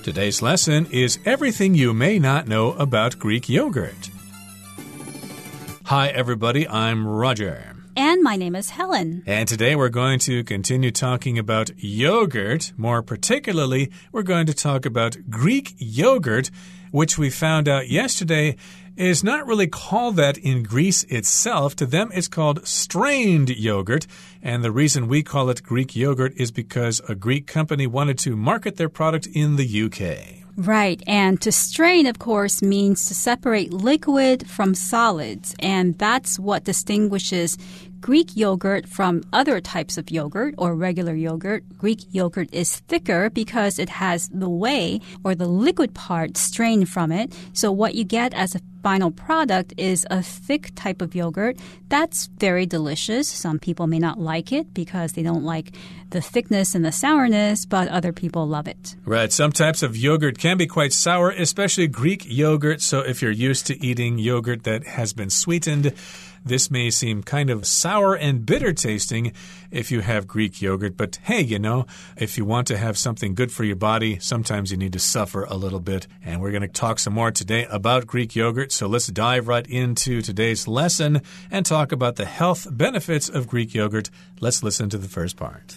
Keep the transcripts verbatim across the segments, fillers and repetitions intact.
Today's lesson is everything you may not know about Greek yogurt. Hi, everybody. I'm Roger. And my name is Helen. And today we're going to continue talking about yogurt. More particularly, we're going to talk about Greek yogurt, which we found out yesterday is not really called that in Greece itself. To them, it's called strained yogurt. And the reason we call it Greek yogurt is because a Greek company wanted to market their product in the U K. Right. And to strain, of course, means to separate liquid from solids. And that's what distinguishes Greek yogurt from other types of yogurt or regular yogurt. Greek yogurt is thicker because it has the whey or the liquid part strained from it. So what you get as a final product is a thick type of yogurt. That's very delicious. Some people may not like it because they don't like the thickness and the sourness, but other people love it. Right. Some types of yogurt can be quite sour, especially Greek yogurt. So if you're used to eating yogurt that has been sweetened, this may seem kind of sour and bitter tasting if you have Greek yogurt. But hey, you know, if you want to have something good for your body, sometimes you need to suffer a little bit. And we're going to talk some more today about Greek yogurt. So let's dive right into today's lesson and talk about the health benefits of Greek yogurt. Let's listen to the first part.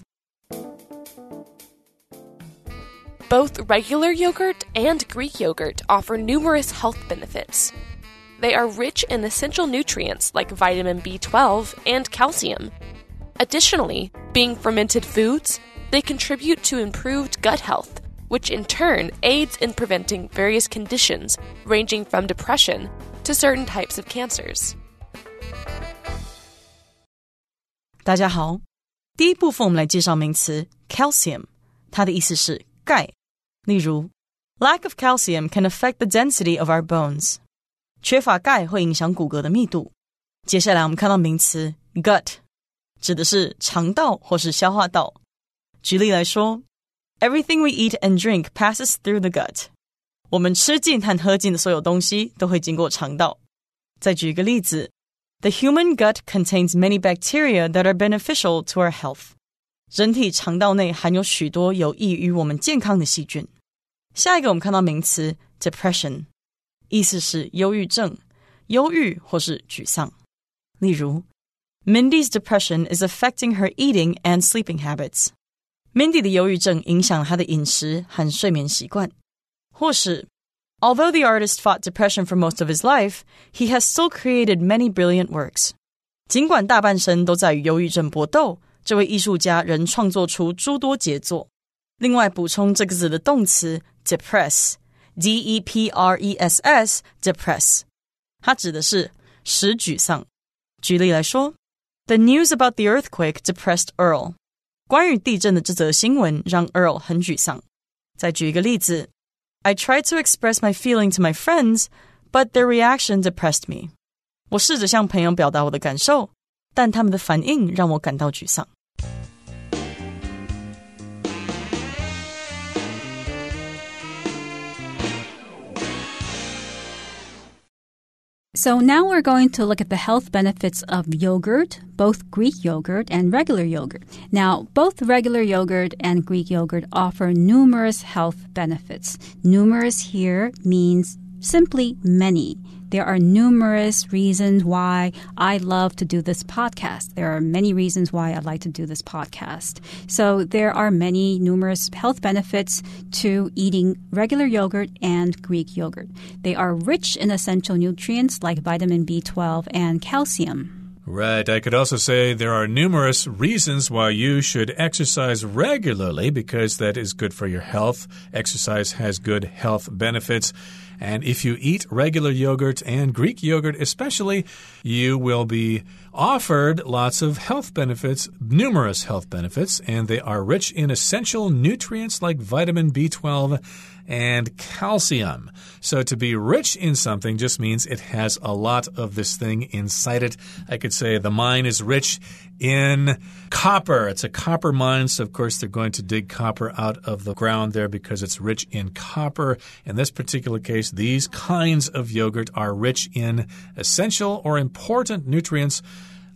Both regular yogurt and Greek yogurt offer numerous health benefits. They are rich in essential nutrients like vitamin B twelve and calcium. Additionally, being fermented foods, they contribute to improved gut health, which in turn aids in preventing various conditions ranging from depression to certain types of cancers. 大家好，第一部分我们来介绍名词 calcium， 它的意思是钙。例如 lack of calcium can affect the density of our bones. 缺乏钙会影響骨骼的密度。接下来我們看到名詞 gut， 指的是腸道或是消化道。舉例來說 Everything we eat and drink passes through the gut. 我們吃進和喝進的所有東西都會經過腸道。再舉一個例子 The human gut contains many bacteria that are beneficial to our health. 人體腸道內含有許多有益於我們健康的細菌。下一個我們看到名詞 depression，意思是憂鬱症、憂鬱或是沮喪。例如 Mindy's depression is affecting her eating and sleeping habits. Mindy 的憂鬱症影響她的飲食和睡眠習慣。或是 Although the artist fought depression for most of his life, he has still created many brilliant works. 儘管大半生都在與憂鬱症搏鬥，這位藝術家仍創作出諸多傑作。另外補充這個字的動詞 depress D E P R E S S, depress. 它指的是使沮喪。舉例來說 The news about the earthquake depressed Earl. 關於地震的這則新聞讓 Earl 很沮喪。再舉一個例子 I tried to express my feeling to my friends, but their reaction depressed me. 我試着向朋友表達我的感受，但他們的反應讓我感到沮喪。 So now we're going to look at the health benefits of yogurt, both Greek yogurt and regular yogurt. Now, both regular yogurt and Greek yogurt offer numerous health benefits. Numerous here means simply many. There are numerous reasons why I love to do this podcast. There are many reasons why I like to do this podcast. So there are many numerous health benefits to eating regular yogurt and Greek yogurt. They are rich in essential nutrients like vitamin B twelve and calcium. Right. I could also say there are numerous reasons why you should exercise regularly because that is good for your health. Exercise has good health benefits. And if you eat regular yogurt and Greek yogurt especially, you will be offered lots of health benefits, numerous health benefits, and they are rich in essential nutrients like vitamin B twelve and calcium. So to be rich in something just means it has a lot of this thing inside it. I could say the mine is rich in copper. It's a copper mine, so of course they're going to dig copper out of the ground there because it's rich in copper. In this particular case, these kinds of yogurt are rich in essential or important nutrients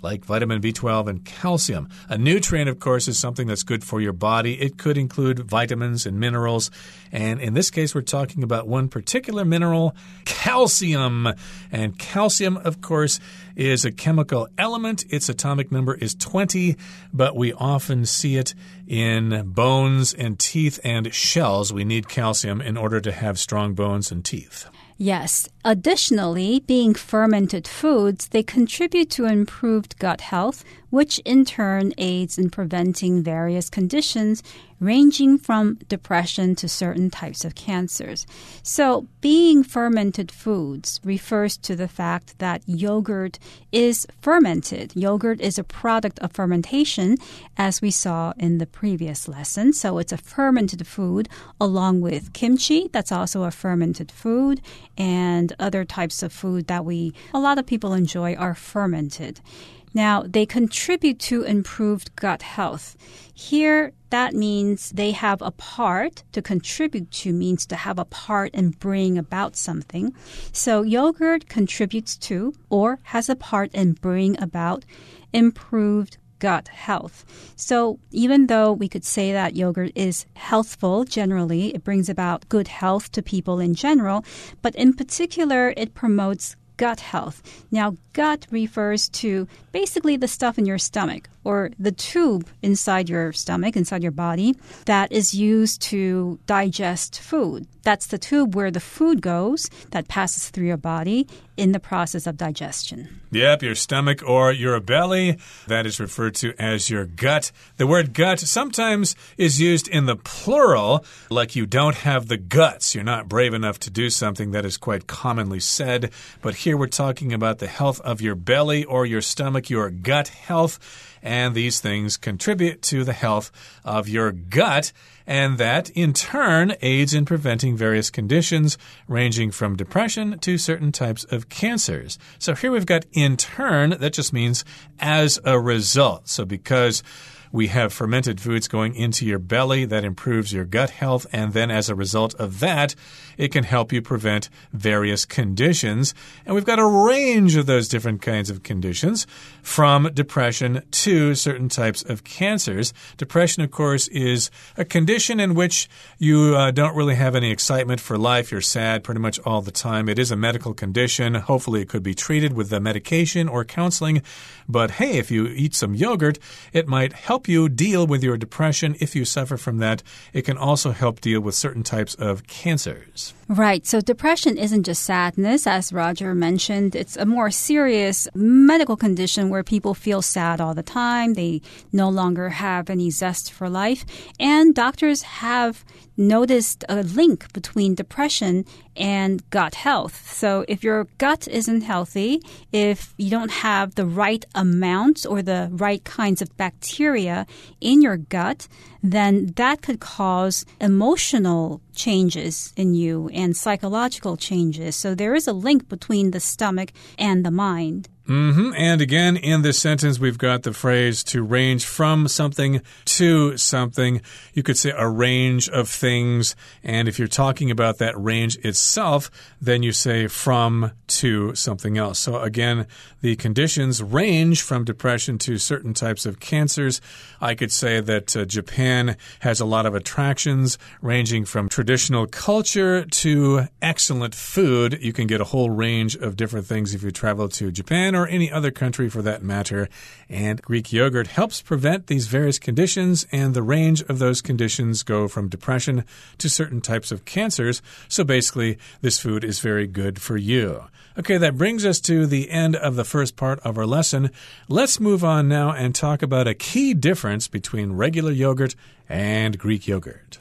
like vitamin B twelve and calcium. A nutrient, of course, is something that's good for your body. It could include vitamins and minerals. And in this case, we're talking about one particular mineral, calcium. And calcium, of course, is a chemical element. Its atomic number is twenty, but we often see it in bones and teeth and shells. We need calcium in order to have strong bones and teeth. Yes. Additionally, being fermented foods, they contribute to improved gut health, which in turn aids in preventing various conditions ranging from depression to certain types of cancers. So, being fermented foods refers to the fact that yogurt is fermented. Yogurt is a product of fermentation, as we saw in the previous lesson. So, it's a fermented food along with kimchi, that's also a fermented food, and other types of food that we, a lot of people enjoy are fermented. Now, they contribute to improved gut health. Here, that means they have a part. To contribute to means to have a part and bring about something. So yogurt contributes to or has a part in bring about improved gut health. So even though we could say that yogurt is healthful generally, it brings about good health to people in general, but in particular, it promotes gut health. Now, gut refers to basically the stuff in your stomach or the tube inside your stomach, inside your body, that is used to digest food. That's the tube where the food goes that passes through your body in the process of digestion. Yep, your stomach or your belly. That is referred to as your gut. The word gut sometimes is used in the plural, like you don't have the guts. You're not brave enough to do something. That is quite commonly said. But here we're talking about the health of your belly or your stomach, your gut health. And these things contribute to the health of your gut. And that, in turn, aids in preventing various conditions ranging from depression to certain types of cancers. So here we've got in turn. That just means as a result. So because we have fermented foods going into your belly, that improves your gut health. And then as a result of that, it can help you prevent various conditions. And we've got a range of those different kinds of conditions, from depression to certain types of cancers. Depression, of course, is a condition in which you uh, don't really have any excitement for life. You're sad pretty much all the time. It is a medical condition. Hopefully it could be treated with the medication or counseling. But hey, if you eat some yogurt, it might help you deal with your depression. If you suffer from that, it can also help deal with certain types of cancers. Right. So depression isn't just sadness, as Roger mentioned. It's a more serious medical condition where people feel sad all the time. They no longer have any zest for life. And doctors have noticed a link between depression and gut health. So if your gut isn't healthy, if you don't have the right amount or the right kinds of bacteria in your gut, then that could cause emotional changes in you and psychological changes. So there is a link between the stomach and the mind. Mm-hmm. And again, in this sentence, we've got the phrase to range from something to something. You could say a range of things. And if you're talking about that range itself, then you say from to something else. So again, the conditions range from depression to certain types of cancers. I could say that uh, Japan has a lot of attractions ranging from traditional culture to excellent food. You can get a whole range of different things if you travel to Japan or any other country for that matter. And Greek yogurt helps prevent these various conditions, and the range of those conditions go from depression to certain types of cancers. So basically, this food is very good for you. Okay, that brings us to the end of the first part of our lesson. Let's move on now and talk about a key difference between regular yogurt and Greek yogurt.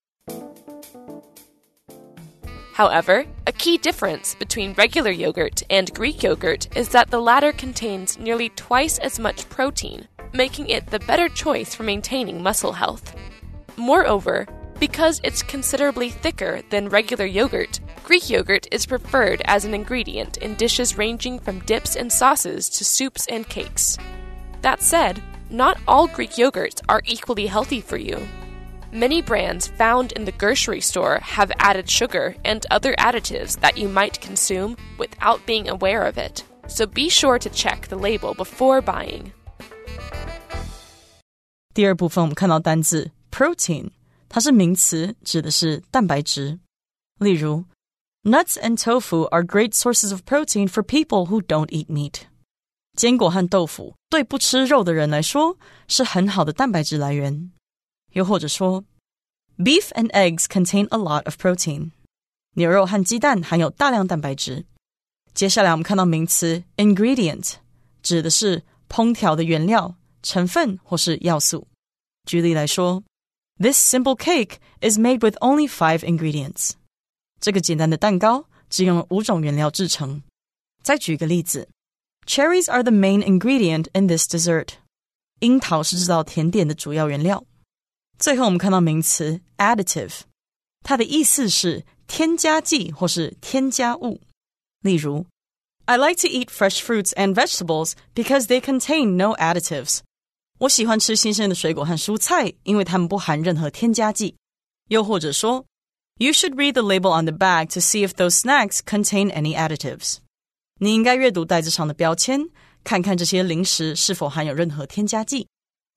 However, a key difference between regular yogurt and Greek yogurt is that the latter contains nearly twice as much protein, making it the better choice for maintaining muscle health. Moreover, because it's considerably thicker than regular yogurt, Greek yogurt is preferred as an ingredient in dishes ranging from dips and sauces to soups and cakes. That said, not all Greek yogurts are equally healthy for you. Many brands found in the grocery store have added sugar and other additives that you might consume without being aware of it. so be sure to check the label before buying. 第二部分我们看到单字 protein， 它是名詞，指的是蛋白質。例如 Nuts and tofu are great sources of protein for people who don't eat meat. 堅果和豆腐對不吃肉的人來說是很好的蛋白質來源。又或者說 Beef and eggs contain a lot of protein. 牛肉和雞蛋含有大量蛋白質。接下來我們看到名詞 ingredient， 指的是烹調的原料、成分或是要素。舉例來說 This simple cake is made with only five ingredients. 這個簡單的蛋糕只用了五種原料製成。再舉個例子 Cherries are the main ingredient in this dessert. 櫻桃是製造甜點的主要原料。最後我們看到名詞 additive， 它的意思是添加劑或是添加物。例如 I like to eat fresh fruits and vegetables because they contain no additives. 我喜歡吃新鮮的水果和蔬菜，因為它們不含任何添加劑。又或者說 You should read the label on the bag to see if those snacks contain any additives. 你應該閱讀袋子上的標籤，看看這些零食是否含有任何添加劑。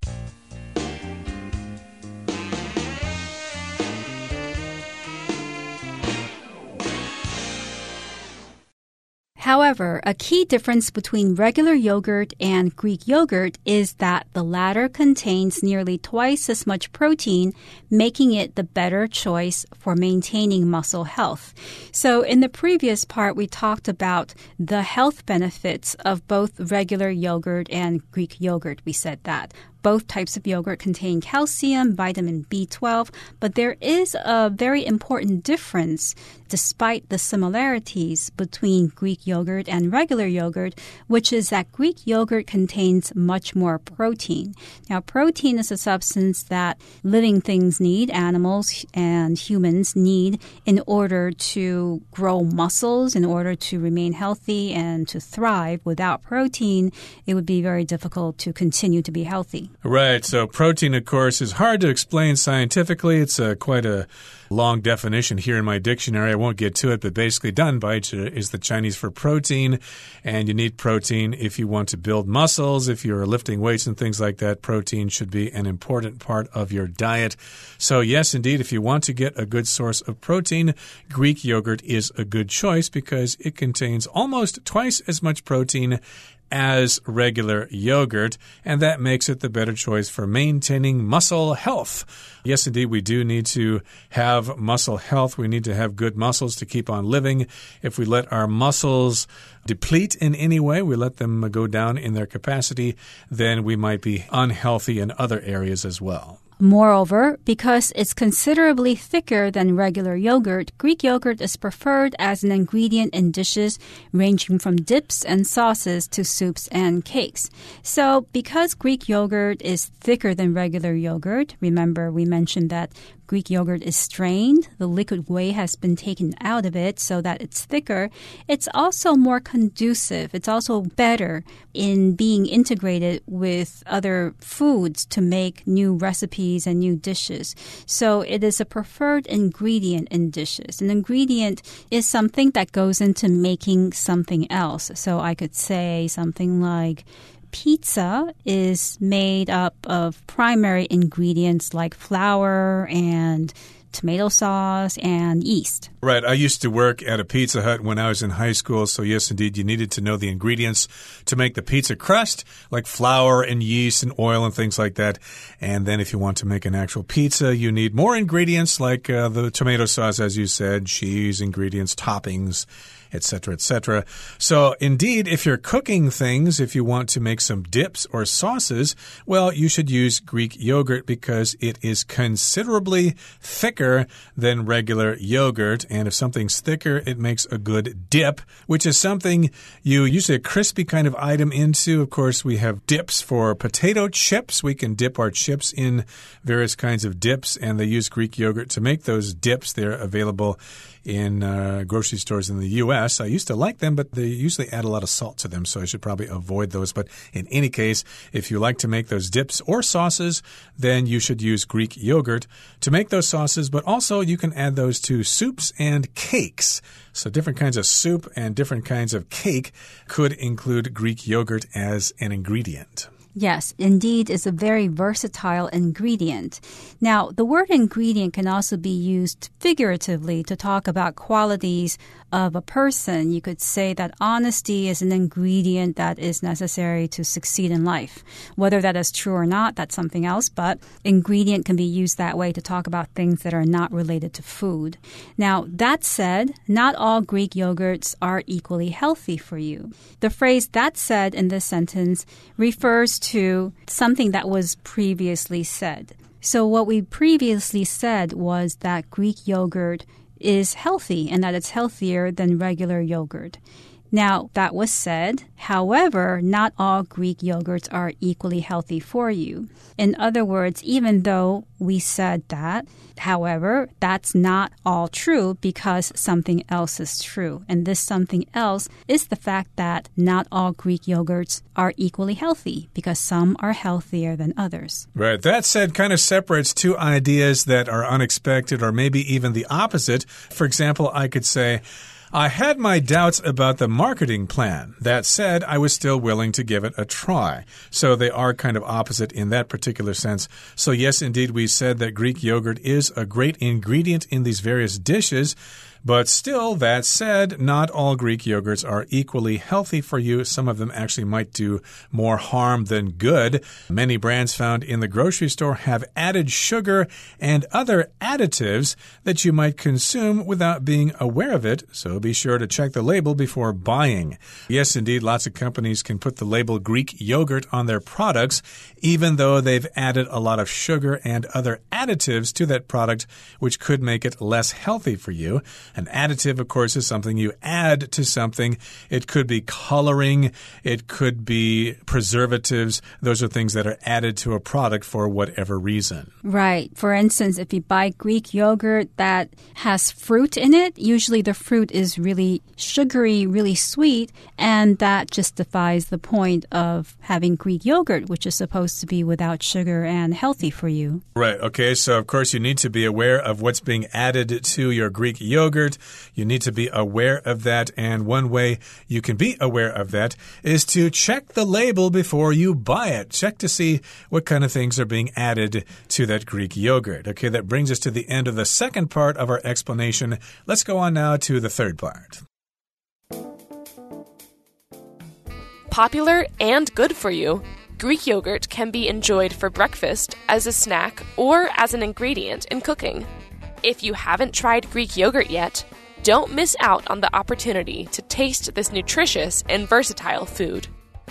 However, a key difference between regular yogurt and Greek yogurt is that the latter contains nearly twice as much protein, making it the better choice for maintaining muscle health. So in the previous part, we talked about the health benefits of both regular yogurt and Greek yogurt. We said that. Both types of yogurt contain calcium, vitamin B twelve, but there is a very important difference despite the similarities between Greek yogurt and regular yogurt, which is that Greek yogurt contains much more protein. Now, protein is a substance that living things need, animals and humans need, in order to grow muscles, in order to remain healthy and to thrive. Without protein, it would be very difficult to continue to be healthy. Right. So protein, of course, is hard to explain scientifically. It's uh, quite a long definition here in my dictionary. I won't get to it, but basically danbaizi is the Chinese for protein, and you need protein if you want to build muscles. If you're lifting weights and things like that, protein should be an important part of your diet. So yes, indeed, if you want to get a good source of protein, Greek yogurt is a good choice because it contains almost twice as much protein as regular yogurt, and that makes it the better choice for maintaining muscle health. Yes, indeed, we do need to have muscle health. We need to have good muscles to keep on living. If we let our muscles deplete in any way, we let them go down in their capacity, then we might be unhealthy in other areas as well. Moreover, because it's considerably thicker than regular yogurt, Greek yogurt is preferred as an ingredient in dishes ranging from dips and sauces to soups and cakes. So because Greek yogurt is thicker than regular yogurt, remember we mentioned that Greek yogurt is strained. The liquid whey has been taken out of it so that it's thicker. It's also more conducive. It's also better in being integrated with other foods to make new recipes and new dishes. So it is a preferred ingredient in dishes. An ingredient is something that goes into making something else. So I could say something like pizza is made up of primary ingredients like flour and tomato sauce and yeast. Right. I used to work at a Pizza Hut when I was in high school. So yes, indeed, you needed to know the ingredients to make the pizza crust, like flour and yeast and oil and things like that. And then if you want to make an actual pizza, you need more ingredients like uh, the tomato sauce, as you said, cheese, ingredients, toppings, et cetera, et cetera. So indeed, if you're cooking things, if you want to make some dips or sauces, well, you should use Greek yogurt because it is considerably thicker than regular yogurt. And if something's thicker, it makes a good dip, which is something you usually a crispy kind of item into. Of course, we have dips for potato chips. We can dip our chips in various kinds of dips, and they use Greek yogurt to make those dips. They're available in uh, grocery stores in the U S past. I used to like them, but they usually add a lot of salt to them, so I should probably avoid those. But in any case, if you like to make those dips or sauces, then you should use Greek yogurt to make those sauces, but also you can add those to soups and cakes. So different kinds of soup and different kinds of cake could include Greek yogurt as an ingredient. Yes, indeed, it's a very versatile ingredient. Now, the word ingredient can also be used figuratively to talk about qualities of a person. You could say that honesty is an ingredient that is necessary to succeed in life. Whether that is true or not, that's something else, but ingredient can be used that way to talk about things that are not related to food. Now, that said, not all Greek yogurts are equally healthy for you. The phrase "that said" in this sentence refers to something that was previously said. So what we previously said was that Greek yogurt is healthy and that it's healthier than regular yogurt. Now, that was said. However, not all Greek yogurts are equally healthy for you. In other words, even though we said that, however, that's not all true because something else is true. And this something else is the fact that not all Greek yogurts are equally healthy because some are healthier than others. Right. That said kind of separates two ideas that are unexpected or maybe even the opposite. For example, I could say, I had my doubts about the marketing plan. That said, I was still willing to give it a try. So they are kind of opposite in that particular sense. So yes, indeed, we said that Greek yogurt is a great ingredient in these various dishes. But still, that said, not all Greek yogurts are equally healthy for you. Some of them actually might do more harm than good. Many brands found in the grocery store have added sugar and other additives that you might consume without being aware of it. So be sure to check the label before buying. Yes, indeed, lots of companies can put the label Greek yogurt on their products, even though they've added a lot of sugar and other additives to that product, which could make it less healthy for you. An additive, of course, is something you add to something. It could be coloring. It could be preservatives. Those are things that are added to a product for whatever reason. Right. For instance, if you buy Greek yogurt that has fruit in it, usually the fruit is really sugary, really sweet, and that justifies the point of having Greek yogurt, which is supposed to be without sugar and healthy for you. Right. Okay. So, of course, you need to be aware of what's being added to your Greek yogurt. You need to be aware of that, and one way you can be aware of that is to check the label before you buy it. Check to see what kind of things are being added to that Greek yogurt. Okay, that brings us to the end of the second part of our explanation. Let's go on now to the third part. Popular and good for you, Greek yogurt can be enjoyed for breakfast, as a snack, or as an ingredient in cooking. If you haven't tried Greek yogurt yet, don't miss out on the opportunity to taste this nutritious and versatile food.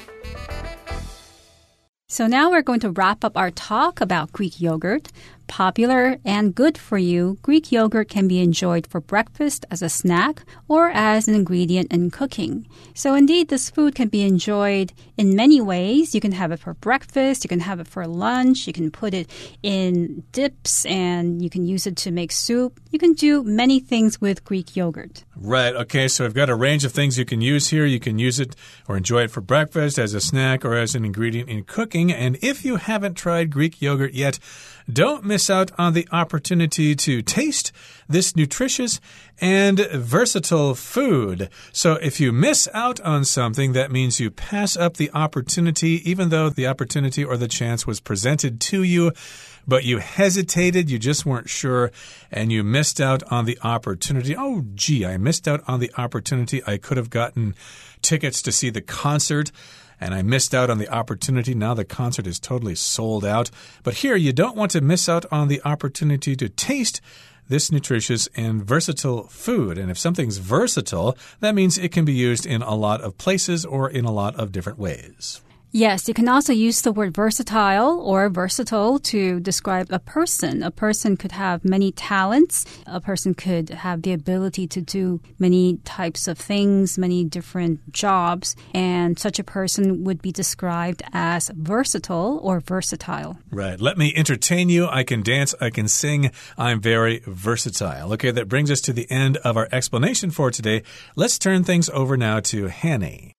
So now we're going to wrap up our talk about Greek yogurt. Popular and good for you, Greek yogurt can be enjoyed for breakfast, as a snack, or as an ingredient in cooking. So indeed, this food can be enjoyed in many ways. You can have it for breakfast, you can have it for lunch, you can put it in dips, and you can use it to make soup. You can do many things with Greek yogurt. Right. Okay, so I've got a range of things you can use here. You can use it or enjoy it for breakfast, as a snack, or as an ingredient in cooking. And if you haven't tried Greek yogurt yet, don't miss out on the opportunity to taste this nutritious and versatile food. So if you miss out on something, that means you pass up the opportunity, even though the opportunity or the chance was presented to you, but you hesitated, you just weren't sure, and you missed out on the opportunity. Oh, gee, I missed out on the opportunity. I could have gotten tickets to see the concert, and I missed out on the opportunity. Now the concert is totally sold out. But here, you don't want to miss out on the opportunity to taste this nutritious and versatile food. And if something's versatile, that means it can be used in a lot of places or in a lot of different ways. Yes, you can also use the word versatile or versatile to describe a person. A person could have many talents. A person could have the ability to do many types of things, many different jobs, and such a person would be described as versatile or versatile. Right. Let me entertain you. I can dance. I can sing. I'm very versatile. Okay, that brings us to the end of our explanation for today. Let's turn things over now to Hanny.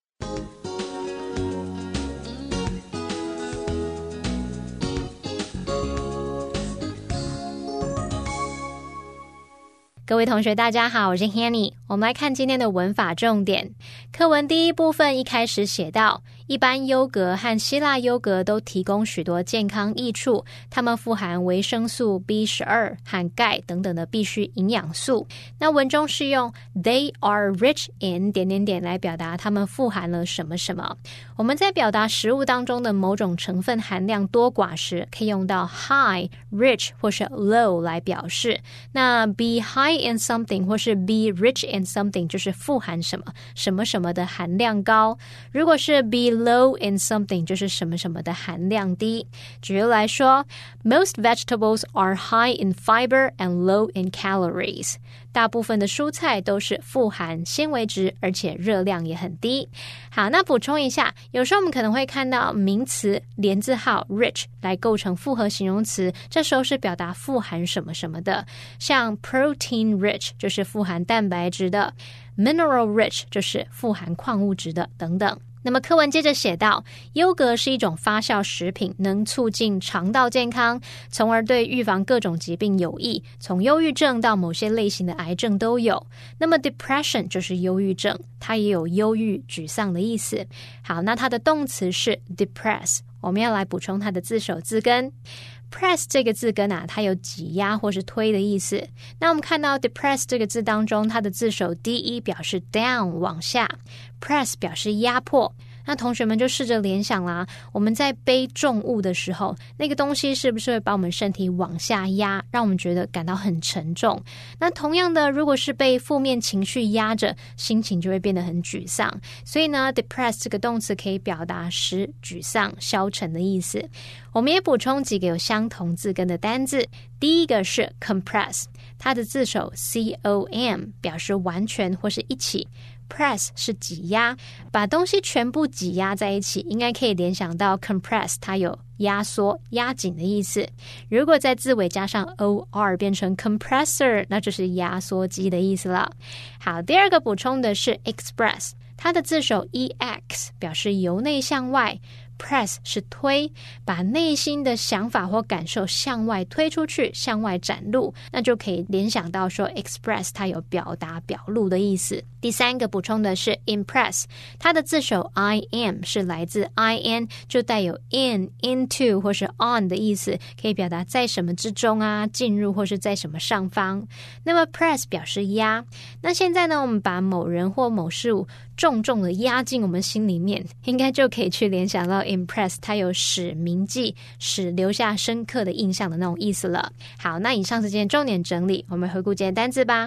各位同學大家好，我是 Hanny。 我們來看今天的文法重點。課文第一部分一開始寫到，一般優格和希臘優格都提供許多健康益處，它們富含維生素 B 十二 和鈣等等的必需營養素。那文中是用 They are rich in 點點點來表達它們富含了什麼什麼。我們在表達食物當中的某種成分含量多寡時，可以用到 high、rich 或是 low 來表示。那 be high in something 或是 be rich in something 就是富含什麼什麼什麼的含量高。如果是 be low in something 就是什麼什麼的含量低。舉例來說， Most vegetables are high in fiber and low in calories。 大部分的蔬菜都是富含纖維質，而且熱量也很低。好，那補充一下，有時候我們可能會看到名詞連字號 rich 來構成複合形容詞，這時候是表達富含什麼什麼的，像 protein rich 就是富含蛋白質的， mineral rich 就是富含礦物質的等等。那麼課文接着寫到，優格是一種發酵食品，能促進腸道健康，從而對預防各種疾病有益，從憂鬱症到某些類型的癌症都有。那麼 depression 就是憂鬱症，它也有憂鬱、沮喪的意思。好，那它的動詞是 depress， 我們要來補充它的字首字根。press 這個字根啊，它有擠壓或是推的意思。那我們看到 depress 這個字當中，它的字首 de 表示 down 往下， press 表示壓迫。那同學們就試着聯想啦，我們在背重物的時候，那個東西是不是會把我們身體往下壓，讓我們覺得感到很沉重？那同樣的，如果是被負面情緒壓着，心情就會變得很沮喪。所以呢 depress 這個動詞可以表達使沮喪、消沉的意思。我們也補充幾個有相同字根的單字。第一個是 compress， 它的字首 C O M 表示完全或是一起。Press 是擠壓，把東西全部擠壓在一起，應該可以聯想到 compress 它有壓縮、壓緊的意思。如果在字尾加上 or 變成 compressor， 那就是壓縮機的意思了。好，第二個補充的是 express， 它的字首 E X 表示由內向外。Press 是推，把內心的想法或感受向外推出去，向外展露，那就可以聯想到說 express 它有表達表露的意思。第三個補充的是 impress， 它的字首 I M 是來自 I N， 就帶有 in、into 或是 on 的意思，可以表達在什麼之中啊，進入或是在什麼上方。那麼 press 表示壓。那現在呢，我們把某人或某事物重重的壓進我們心裡面，應該就可以去聯想到 impress 它有使銘記、使留下深刻的印象的那種意思了。好，那以上是今天重點整理，我們回顧今天單字吧。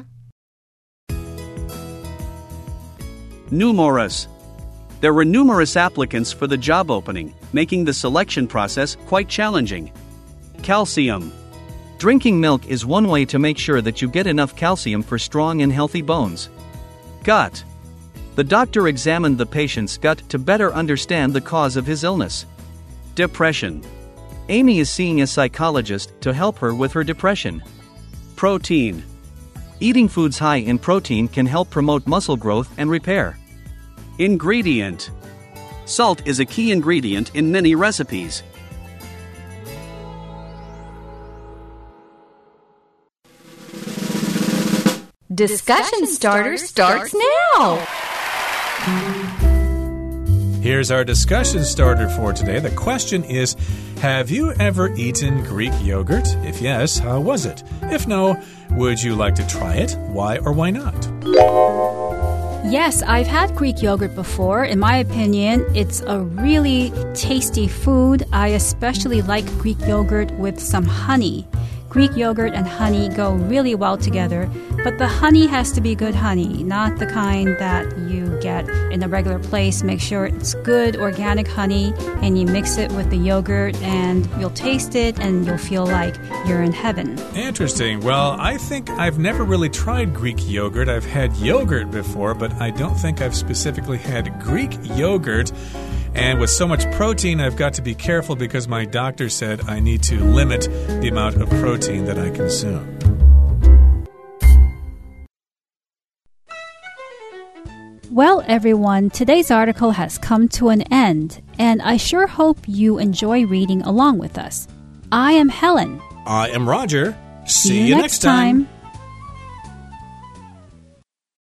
Numerous. There were numerous applicants for the job opening, making the selection process quite challenging. Calcium. Drinking milk is one way to make sure that you get enough calcium for strong and healthy bones. Gut. The doctor examined the patient's gut to better understand the cause of his illness. Depression. Amy is seeing a psychologist to help her with her depression. Protein. Eating foods high in protein can help promote muscle growth and repair. Ingredient. Salt is a key ingredient in many recipes. Discussion Starter starts now! Here's our discussion starter for today. The question is, have you ever eaten Greek yogurt? If yes, how was it? If no, would you like to try it? Why or why not? Yes, I've had Greek yogurt before. In my opinion, it's a really tasty food. I especially like Greek yogurt with some honey. Greek yogurt and honey go really well together, but the honey has to be good honey, not the kind that you get in a regular place. Make sure it's good organic honey, and you mix it with the yogurt, and you'll taste it, and you'll feel like you're in heaven. Interesting. Well, I think I've never really tried Greek yogurt. I've had yogurt before, but I don't think I've specifically had Greek yogurt. And with so much protein, I've got to be careful because my doctor said I need to limit the amount of protein that I consume. Well, everyone, today's article has come to an end, and I sure hope you enjoy reading along with us. I am Helen. I am Roger. See, See you, you next next time. time.